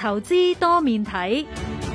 投資多面睇。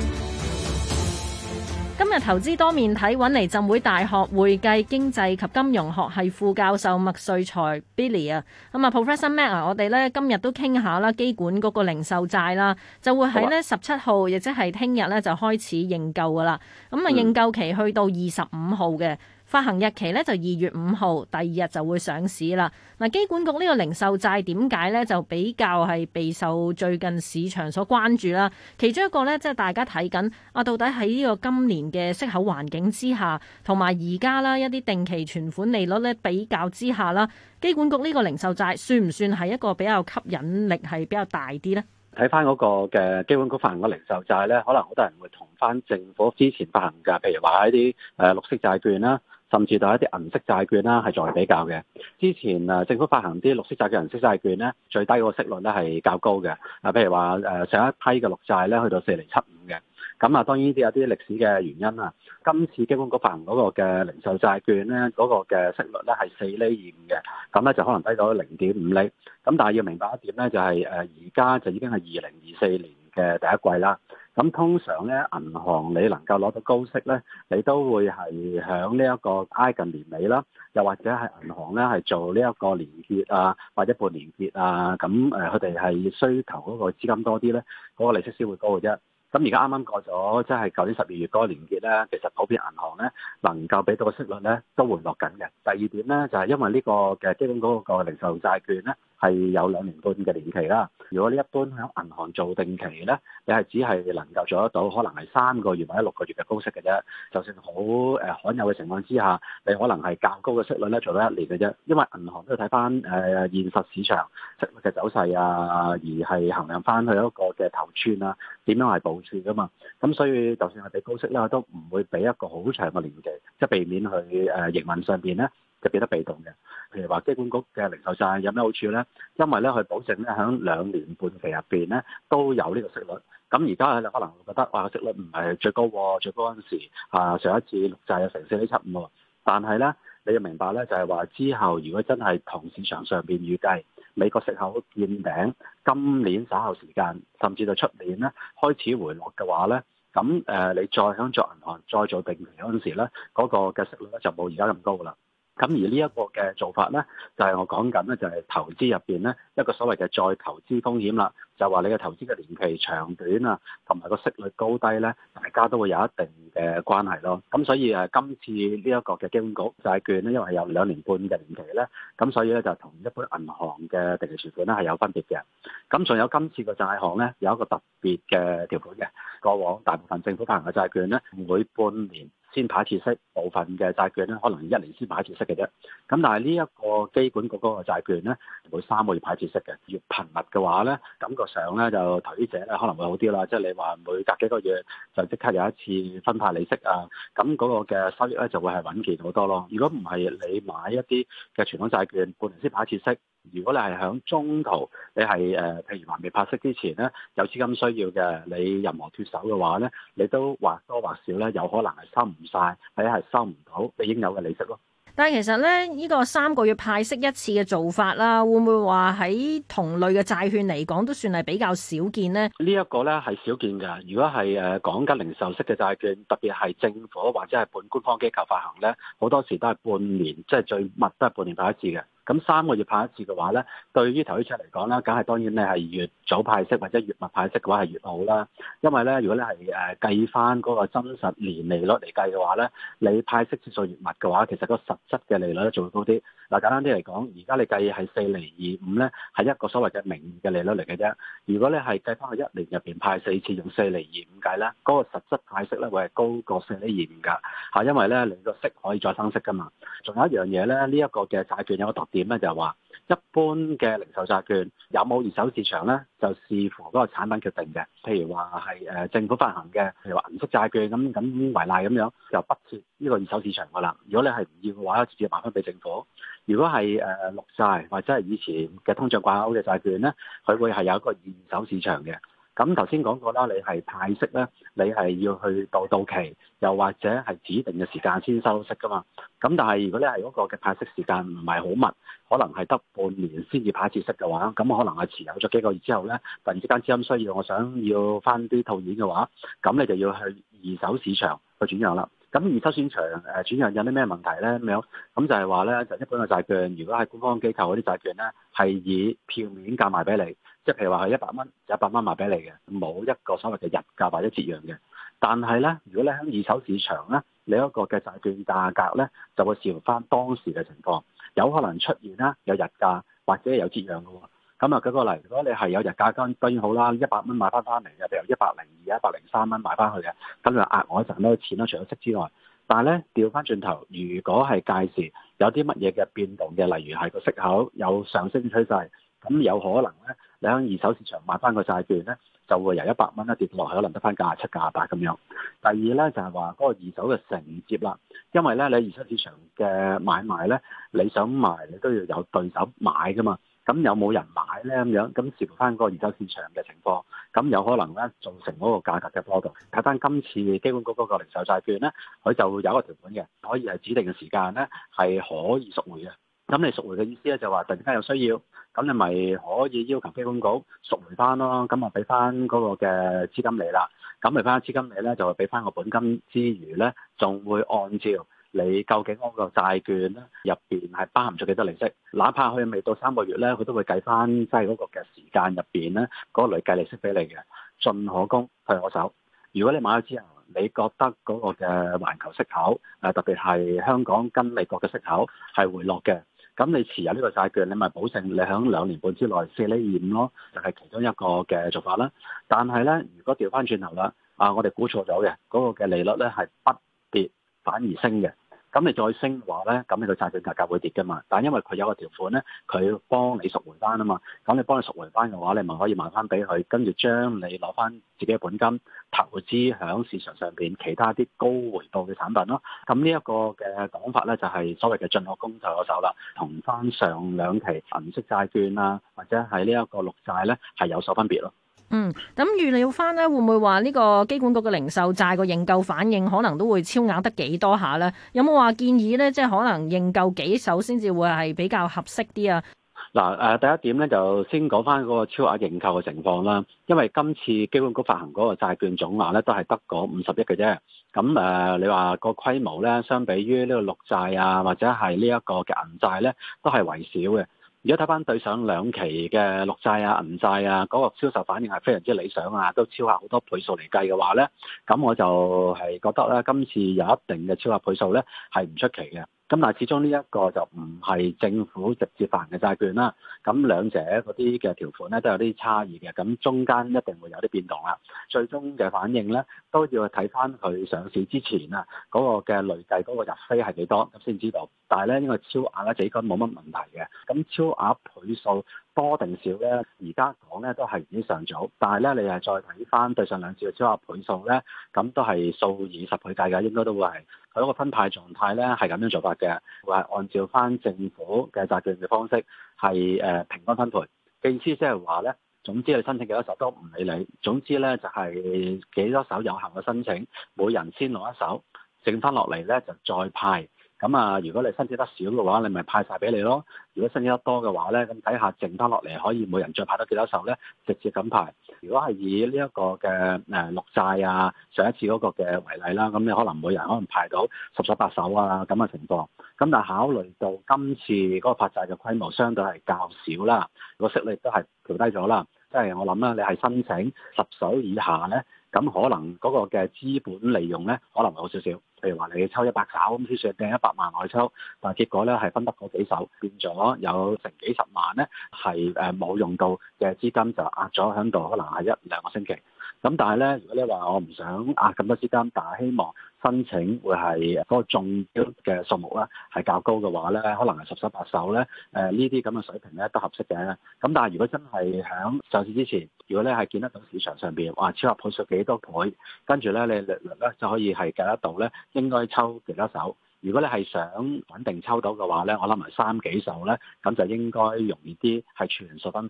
今日投資多面睇揾嚟浸會大學會計經濟及金融學系副教授麥萃才 Billy 啊，咁啊 Professor Mac 啊，我哋咧今日都傾下啦，機管嗰個零售債啦，就會喺咧17號，亦即係聽日咧就開始認購噶啦。咁啊認購期去到25號嘅。發行日期咧就2月5號，第2日就會上市啦。嗱，機管局呢個零售債點解咧就比較係備受最近市場所關注啦？其中一個咧即係大家睇緊啊，到底喺呢個今年嘅息口環境之下，同埋而家啦一啲定期存款利率咧比較之下啦，機管局呢個零售債算唔算係一個比較吸引力係比較大啲咧？ 睇翻嗰個嘅機管局發行嘅零售債咧，可能好多人會同翻政府之前發行嘅，譬如話一啲綠色債券啦，甚至到一啲銀色債券啦，係作為比較嘅。之前政府發行啲綠色債券、銀色債券咧，最低個息率咧係較高嘅。譬如話上一批嘅綠債咧，去到4.75%嘅。咁啊，當然呢啲有啲歷史嘅原因啦。今次機管局發行嗰個嘅零售債券咧，嗰個嘅息率咧係4.25%嘅，咁咧就可能低到0.5厘。咁但係要明白一點咧，就係而家就已經係2024年嘅第一季啦。咁通常咧，銀行你能夠攞到高息咧，你都會係響呢一個挨近年尾啦，又或者係銀行咧係做呢一個年結啊，或者半年結啊，咁佢哋係需求嗰個資金多啲咧，嗰個利息先會高嘅啫。咁而家啱啱過咗，即係舊年12月嗰個年結咧，其實普遍銀行咧能夠俾到個息率咧都回落緊嘅。第二點咧就係因為呢個嘅基本嗰個零售債券咧係有2年半嘅年期啦。如果你一般喺銀行做定期咧，你係只係能夠做得到可能係3個月或者6個月嘅高息嘅啫。就算好罕有嘅情況之下，你可能係較高嘅息率咧做到1年嘅啫。因為銀行都要睇翻現實市場息率嘅走勢啊，而係衡量翻佢一個嘅頭寸啊，點樣係部署噶嘛。咁所以就算係俾高息咧，都唔會俾一個好長嘅年期，即係避免佢營運上邊咧就變得被動嘅。譬如話機管局嘅零售債有咩好處咧？因為咧佢保證咧喺2年半期入邊咧都有呢個息率。咁而家你可能會覺得哇，個息率唔係最高喎，最高嗰陣時上一次綠債有成4.75喎。但係咧你要明白咧，就係話之後如果真係同市場上邊預計美國息口見頂，今年稍後時間甚至到出年咧開始回落嘅話咧，咁你再響作銀行再做定期嗰陣時咧，嗰個嘅息率咧就冇而家咁高噶啦。咁而呢一個嘅做法咧，就係我講緊咧，就係投資入邊咧一個所謂嘅再投資風險啦，就話你嘅投資嘅年期長短啊，同埋個息率高低咧，大家都會有一定嘅關係咯。咁所以今次呢一個嘅機管局債券咧，因為係有2年半嘅年期咧，咁所以咧就同一般銀行嘅定期存款咧係有分別嘅。咁仲有今次個債項咧有一個特別嘅條款嘅，過往大部分政府發行嘅債券咧每半年先派一次息，部分嘅債券咧可能1年先派一次息嘅啫。咁但係呢一個機管局嗰個債券咧，每3個月派一次息嘅。越頻密嘅話咧，感覺上咧就投資者咧可能會好啲啦。即係你話每隔幾個月就即刻有一次分派利息啊，咁嗰個嘅收益咧就會係穩健好多咯。如果唔係你買一啲嘅傳統債券，半年先派一次息。如果你係響中途，你係譬如話未派息之前咧，有資金需要嘅，你任何脫手嘅話咧，你都或多或少咧，有可能係收唔晒，或者係收唔到你應有嘅利息咯。 但係其實咧，呢個3個月派息一次嘅做法啦，會唔會話喺同類嘅債券嚟講，都算係比較少見呢？ 呢一個咧係少見㗎。如果係講緊零售式嘅債券，特別係政府或者係半官方機構發行咧，好多時都係半年，即係最密都係半年派一次嘅。咁3個月派一次嘅話咧，對於投資者嚟講咧，梗係當然你係越早派息或者越密派息嘅話係越好啦。因為咧，如果你係計翻嗰個真實年利率嚟計嘅話咧，你派息次數越密嘅話，其實個實質嘅利率咧就會高啲。嗱，簡單啲嚟講，而家你計係4.25%咧，係一個所謂嘅名義嘅利率嚟嘅啫。如果你係計翻去1年入邊派4次，用4.25計咧，嗰個實質派息咧會係高過4.25㗎嚇，因為咧你個息可以再生息㗎嘛。仲有一樣嘢咧，呢一個嘅債券有個特點咧，就係話一般嘅零售債券有冇二手市場咧，就視乎嗰個產品決定嘅。譬如話係政府發行嘅，譬如話銀色債券咁為例咁樣，就不設呢個二手市場㗎啦。如果你係唔要嘅話，直接賣翻俾政府。如果係綠債或者係以前嘅通脹掛鈎嘅債券咧，佢會係有一個二手市場嘅。 咁頭先講過啦，你係派息咧，你係要去到期，又或者係指定嘅時間先收息噶嘛。咁但係如果你係嗰個嘅派息時間唔係好密，可能係得半年先至派一次息嘅話，咁可能係持有咗幾個月之後咧，突然之間資金需要，我想要翻啲套現嘅話，咁你就要去二手市場去轉讓啦。咁二手市場轉讓有啲咩問題咧？咁樣咁就係話咧，就一般嘅債券，如果係官方機構嗰啲債券咧，係以票面價賣俾你，即係譬如話係100蚊，就100蚊賣俾你嘅，冇一個所謂嘅日價或者折讓嘅。但係咧，如果你喺二手市場咧，你一個嘅債券價格咧，就會視乎翻當時嘅情況，有可能出現啦有日價或者有折讓嘅喎。咁啊，舉個例，如果你係有日價，當然好啦，100蚊買翻嚟嘅，譬如102、103蚊買翻去嘅，咁就額外賺到錢啦，除咗息之外。但係咧，調翻轉頭，如果係屆時有啲乜嘢嘅變動嘅，例如係個息口有上升趨勢，咁有可能咧，你喺二手市場買翻個債券咧，就會由100蚊跌落去，可能得翻97、98咁樣。第二咧就係話嗰個二手嘅承接啦，因為咧你二手市場嘅買賣咧，你想賣你都要有對手買噶嘛。咁有冇人買咧咁樣？咁視乎翻嗰個二手市場嘅情況，咁有可能咧造成嗰個價格嘅波動。睇翻今次基本局嗰個零售債券咧，佢就會有一個條款嘅，可以係指定嘅時間咧係可以贖回嘅。咁你贖回嘅意思咧就話突然間有需要，咁你咪可以要求基本局贖回翻咯。咁啊俾翻嗰個嘅資金你啦，咁俾翻資金你咧就會俾翻個本金之餘咧，仲會按照你究竟嗰個債券咧入邊係包含咗幾多利息，哪怕佢未到3個月咧，佢都會計翻即係嗰個嘅時間入邊咧嗰個累計利息俾你嘅，進可攻退可守。如果你買咗之後，你覺得嗰個嘅環球息口特別係香港跟美國嘅息口係回落嘅，咁你持有呢個債券，你咪保證你喺2年半之內4厘25咯，就係其中一個嘅做法啦。但係咧，如果調翻轉頭啦，我哋估錯咗嘅嗰個嘅利率咧係不跌反而升嘅。咁你再升嘅話咧，咁你個債券價格會跌㗎嘛？但係因為佢有個條款咧，佢幫你贖回翻啊嘛。咁你幫你贖回翻嘅話，你咪可以賣翻俾佢，跟住將你攞翻自己嘅本金投資響市場上邊其他啲高回報嘅產品咯。咁呢一個嘅講法咧，就係所謂嘅進可攻退可守啦，同翻上兩期銀色債券啊，或者係呢一個綠債咧，係有所分別咯。 咁預料翻呢，會唔會話呢個機管局嘅零售債個認購反應可能都會超額得幾多下呢？有冇話建議呢？即係可能認購幾手先至會係比較合適啲啊？ 嗱，第一點咧就先講翻嗰個超額認購嘅情況啦。因為今次機管局發行嗰個債券總額咧都係得嗰50億嘅啫。咁你話個規模咧，相比於呢個綠債啊，或者係呢一個嘅銀債咧，都係為少嘅。如果睇翻對上2期嘅綠債啊、銀債啊，嗰個銷售反應係非常之理想啊，都超額好多倍數嚟計嘅話咧，咁我就係覺得咧，今次有一定嘅超額倍數咧係唔出奇嘅。咁但係始終呢一個就唔係政府直接發行嘅債券啦，咁兩者嗰啲嘅條款咧都有啲差異嘅，咁中間一定會有啲變動啦。最終嘅反應咧都要睇翻佢上市之前啊嗰個嘅累計嗰個入飛係幾多咁先知道。但係咧呢個超額咧就應該冇乜問題嘅。咁超額倍數多定少咧？而家講咧都係言之尚早，但係咧你係再睇翻對上2次嘅超額倍數咧，咁都係數以10倍計嘅，應該都會係佢嗰個分派狀態咧係咁樣做法嘅，會係按照翻政府嘅債券嘅方式係平均分配嘅意思，即係話咧，總之你申請幾多手都唔理你，總之咧就係幾多手有效嘅申請，每人先攞一手，剩翻落嚟咧就再派。咁啊，如果你申請得少嘅話，你咪派晒俾你咯。如果申請得多嘅話咧，咁睇下剩翻落嚟可以每人再派多幾多手咧，直接咁派。如果係以呢一個嘅綠債啊，上一次嗰個嘅為例啦，咁你可能每人可能派到10手8手啊咁嘅情況。咁但係考慮到今次嗰個發債嘅規模相對係較少啦，個息率都係調低咗啦。即係我諗啦，你係申請10手以下咧，咁可能嗰個嘅資本利用咧可能會好少少。譬如話你抽100手咁，先算掟100萬外抽，但係結果咧係分得嗰幾手，變咗有成幾十萬咧係冇用到嘅資金就壓咗喺度，可能係1-2個星期。咁但係咧，如果你話我唔想壓咁多資金，但係希望申請會係嗰個中標嘅數目啦係較高嘅話咧，可能係10手8手咧，呢啲咁嘅水平咧都合適嘅。咁但係如果真係喺上市之前，如果咧係見得到市場上邊哇超額倍數幾多倍，跟住咧你略略咧就可以係計得到咧應該抽幾多手。如果你係想穩定抽到嘅話咧，我諗埋3幾手咧，咁就應該容易啲係全數分派。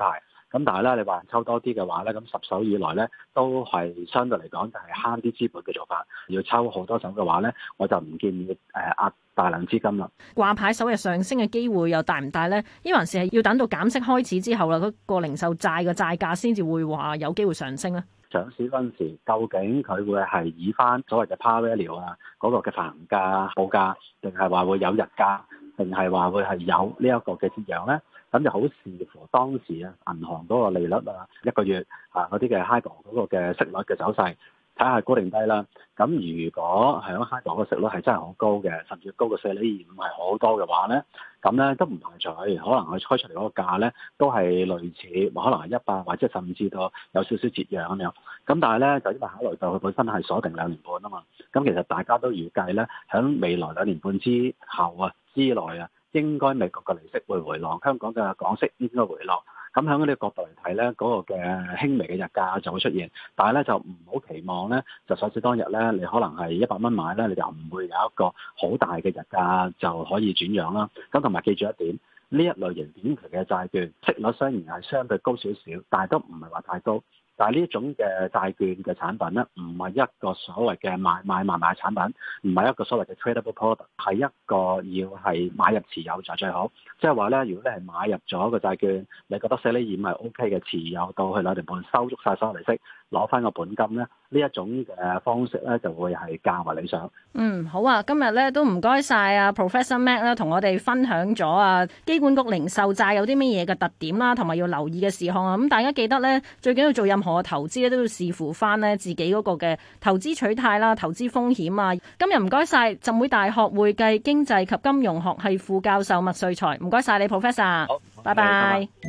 咁但係咧，你話抽多啲嘅話咧，咁10手以內咧都係相對嚟講就係慳啲資本嘅做法。要抽好多手嘅話咧，我就唔建議壓大量資金啦。 掛牌首日上升嘅機會又大唔大咧？抑還是係要等到減息開始之後啦，嗰個零售債嘅債價先至會話有機會上升咧？ 上市嗰陣時，究竟佢會係以翻所謂嘅 par value 啊嗰個嘅發行價報價，定係話會有日價，定係話會係有呢一個嘅折讓咧？咁就好視乎當時啊銀行嗰個利率啊一個月啊嗰啲嘅 HIBOR 嗰個嘅息率嘅走勢，睇下高定低啦。咁如果係喺 HIBOR 個息率係真係好高嘅，甚至高過4.25%係好多嘅話咧，咁咧都唔排除可能佢開出嚟嗰個價咧都係類似，可能係100或者甚至到有少少折讓咁樣。咁但係咧就因為考慮到佢本身係鎖定2年半啊嘛，咁其實大家都預計咧喺未來2年半之後啊之內啊，應該美國嘅利息會回落，香港嘅港息應該回落。咁喺呢個角度嚟睇咧，嗰個嘅輕微嘅日價就會出現，但係咧就唔好期望咧，就上市當日咧，你可能係100蚊買咧，你就唔會有一個好大嘅日價就可以轉讓啦。咁同埋記住一點，呢一類型短期嘅債券息率雖然係相對高少少，但係都唔係話太高。但係呢種嘅債券嘅產品咧，唔係一個所謂嘅買賣產品，唔係一個所謂嘅 tradable product，係一個要係買入持有就最好。即係話咧，如果你係買入咗個債券，你覺得4.25係 OK 嘅，持有到去2年半收足晒所有利息，攞翻個本金咧，呢一種嘅方式咧就會係較為理想。 好啊，今日咧都唔該晒啊 Professor Mac 啦，同我哋分享咗啊機管局零售債有啲乜嘢嘅特點啦，同埋要留意嘅事項啊。咁大家記得咧，最緊要做任何嘅投資咧，都要視乎翻咧自己嗰個嘅投資取態啦、投資風險啊。今日唔該晒浸會大學會計經濟及金融學系副教授麥萃才，唔該晒你 Professor， 好， 拜拜。